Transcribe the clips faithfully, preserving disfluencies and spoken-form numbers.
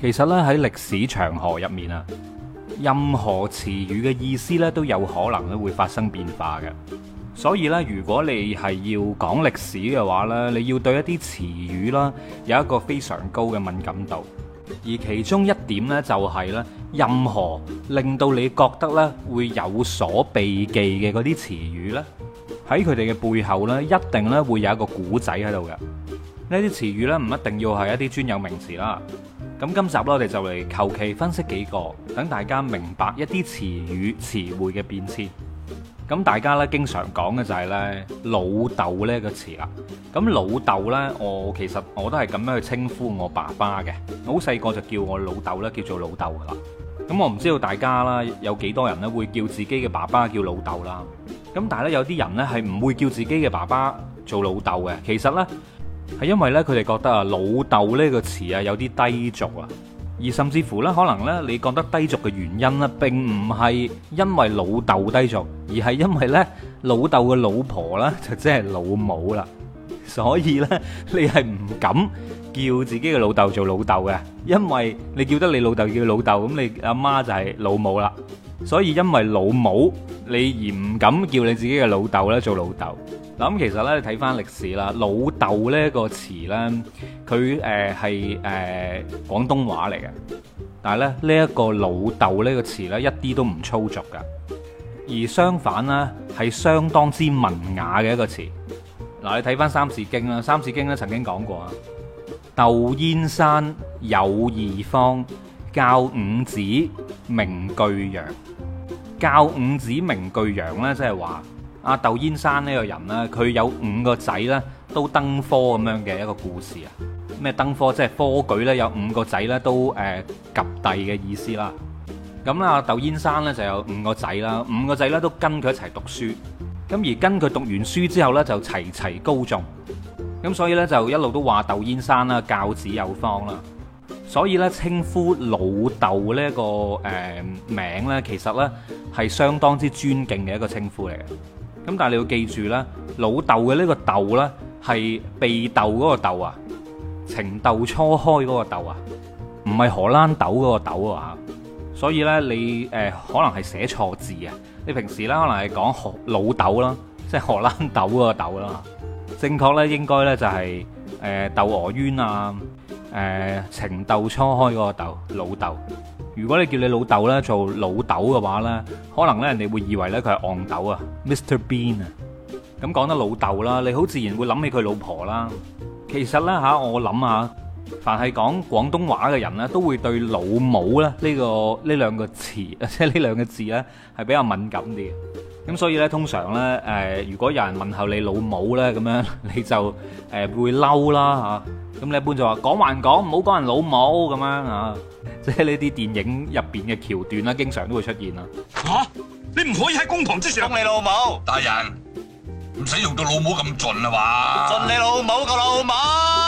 其實咧喺歷史長河入面啊，任何詞語嘅意思咧都有可能咧會發生變化嘅。所以咧，如果你係要講歷史嘅話咧，你要對一啲詞語啦有一個非常高嘅敏感度。而其中一點呢，就係咧，任何令到你覺得咧會有所避忌嘅嗰啲詞語咧，喺佢哋嘅背後咧，一定咧會有一個古仔喺度嘅。呢啲詞語咧唔一定要係一啲專有名詞啦。咁今集咧，我哋就嚟求其分析幾個，等大家明白一啲詞語詞彙嘅變遷。咁大家咧經常講嘅就係咧老豆呢個詞啦。咁老豆呢，我其實我都係咁樣去稱呼我爸爸嘅。我好細個就叫我老豆咧，叫做老豆噶啦。咁我唔知道大家啦，有幾多人咧會叫自己嘅爸爸叫老豆啦。咁但係咧有啲人呢係唔會叫自己嘅爸爸做老豆嘅。其實呢，係因為呢，佢哋覺得啊老豆呢個詞啊有啲低俗啊。而甚至乎咧，可能咧，你覺得低俗嘅原因咧，並唔係因為老豆低俗，而係因為咧老豆嘅老婆咧就即係老母啦。所以咧，你係唔敢叫自己嘅老豆做老豆嘅，因為你叫得你老豆叫老豆，咁你阿媽就係老母啦。所以因為老母，你而唔敢叫你自己嘅老豆咧做老豆。咁其實咧，你睇翻歷史啦，老豆呢個詞咧，佢誒係誒廣東話嚟嘅，但係咧呢一個老豆呢個詞咧，一啲都唔粗俗噶，而相反咧係相當之文雅嘅一個詞。嗱，你睇翻《三字經》啦，《三字經》咧曾經講過啊，竇燕山有義方，教五子名俱揚。教五子名俱揚咧，即係話。阿竇燕山呢個人呢，佢有五個仔呢都登科咁樣嘅一個故事啊。咩登科？即係科舉呢，有五個仔呢都誒及第嘅意思啦。咁啦，阿竇燕山呢就有五個仔啦，五個仔呢都跟佢一齊讀書。咁而跟佢讀完書之後呢，就齊齊高中。咁所以呢，就一路都話竇燕山啦，教子有方啦。所以呢，稱呼老豆呢個誒名呢，其實呢係相當之尊敬嘅一個稱呼嚟嘅。咁但係你要記住啦，老豆嘅呢個豆呢，係被豆嗰個豆啊，情竇初開嗰個豆啊，唔係荷蘭豆嗰個豆啊。所以呢，你誒、呃、可能係寫錯字啊。你平時呢，可能係講荷老豆啦，即係荷蘭豆嗰個豆啦。正確呢，應該呢就係誒竇娥冤啊，誒、呃、情竇初開嗰個豆老豆。如果你叫你老豆咧做老豆嘅話咧，可能咧人哋會以為咧佢係戇豆啊 ，Mister Bean 啊。咁講得老豆啦，你好自然會諗起佢老婆啦。其實咧吓，我諗下，凡係講廣東話嘅人咧，都會對老母咧呢個呢兩個詞，即係呢兩個字咧係比較敏感啲嘅。咁所以咧，通常咧誒，如果有人問候你老母咧，咁樣你就誒會嬲啦吓。咁你一般就話講還講，唔好講人老母咁樣啊。即係呢啲電影入邊嘅橋段啦，經常都會出現啦。 吓、啊，你唔可以喺公堂之上講你老母，大人唔使用到老母咁盡啊嘛，盡你老母個老母。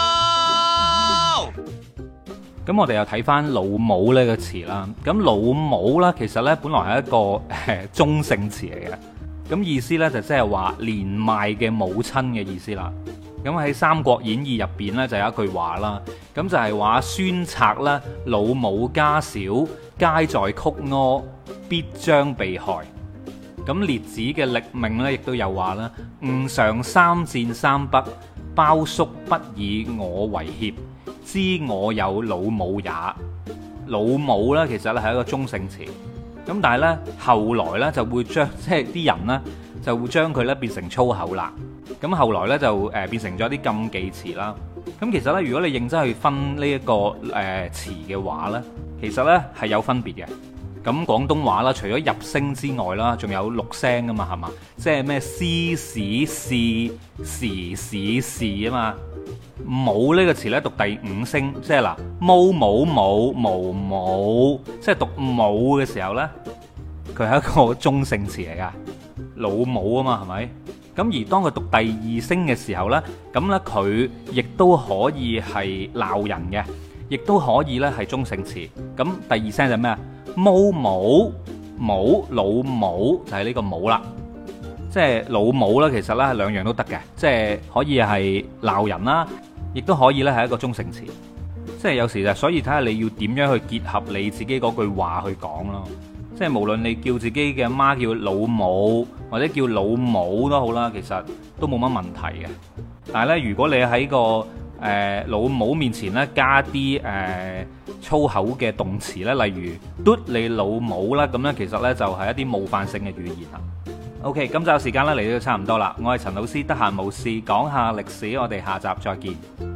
咁我哋又睇翻老母呢個詞啦。咁老母啦，其實呢本來係一個誒中性詞嚟嘅，咁意思呢，就即係話年邁嘅母親嘅意思啦。咁喺《三國演義》入邊呢，就有一句話啦，咁就係話孫策啦，老母家小，皆在曲阿，必將被害。咁列子嘅曆命呢，亦都有話啦，吾嘗三戰三北，鮑叔不以我為脅，知我有老母也。老母呢，其實咧係一個中性詞，咁但係呢，後來呢，就會將即係啲人呢，就會將佢呢變成粗口啦。咁後來呢，就誒變成咗啲禁忌詞啦。咁其實呢，如果你認真去分呢一個誒詞嘅話呢，其實呢係有分別嘅。咁廣東話啦，除咗入聲之外啦，仲有六聲噶嘛，係嘛？即係咩詩史事時史事啊嘛。母呢個詞呢，讀第五聲，即係嗱，毛母母無母，即係讀母嘅時候呢，佢係一個中性詞嚟噶，老母啊嘛，係咪？咁而當佢讀第二聲嘅時候呢，咁呢，佢亦都可以係鬧人嘅，亦都可以呢係中性詞。咁第二聲就咩啊？毛母母老母就係呢個母啦，即係老母啦。其實呢，兩樣都得嘅，即係可以係鬧人啦，亦都可以呢係一個中性詞。 即係有時就所以睇下你要點樣去結合你自己嗰句話去講咯。即係無論你叫自己嘅媽叫老母或者叫老母都好啦，其實都冇乜問題嘅。但係咧，如果你喺個誒、呃、老母面前咧加啲誒、呃、粗口嘅動詞咧，例如嘟你老母啦，咁咧其實咧就係一啲冒犯性嘅語言啦。OK，今集時間咧嚟到差唔多啦，我係陳老師，得閒冇事講下歷史，我哋下集再見。